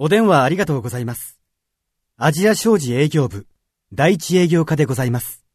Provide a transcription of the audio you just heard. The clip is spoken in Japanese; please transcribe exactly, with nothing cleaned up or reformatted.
お電話ありがとうございます。アジア商事営業部、第一営業課でございます。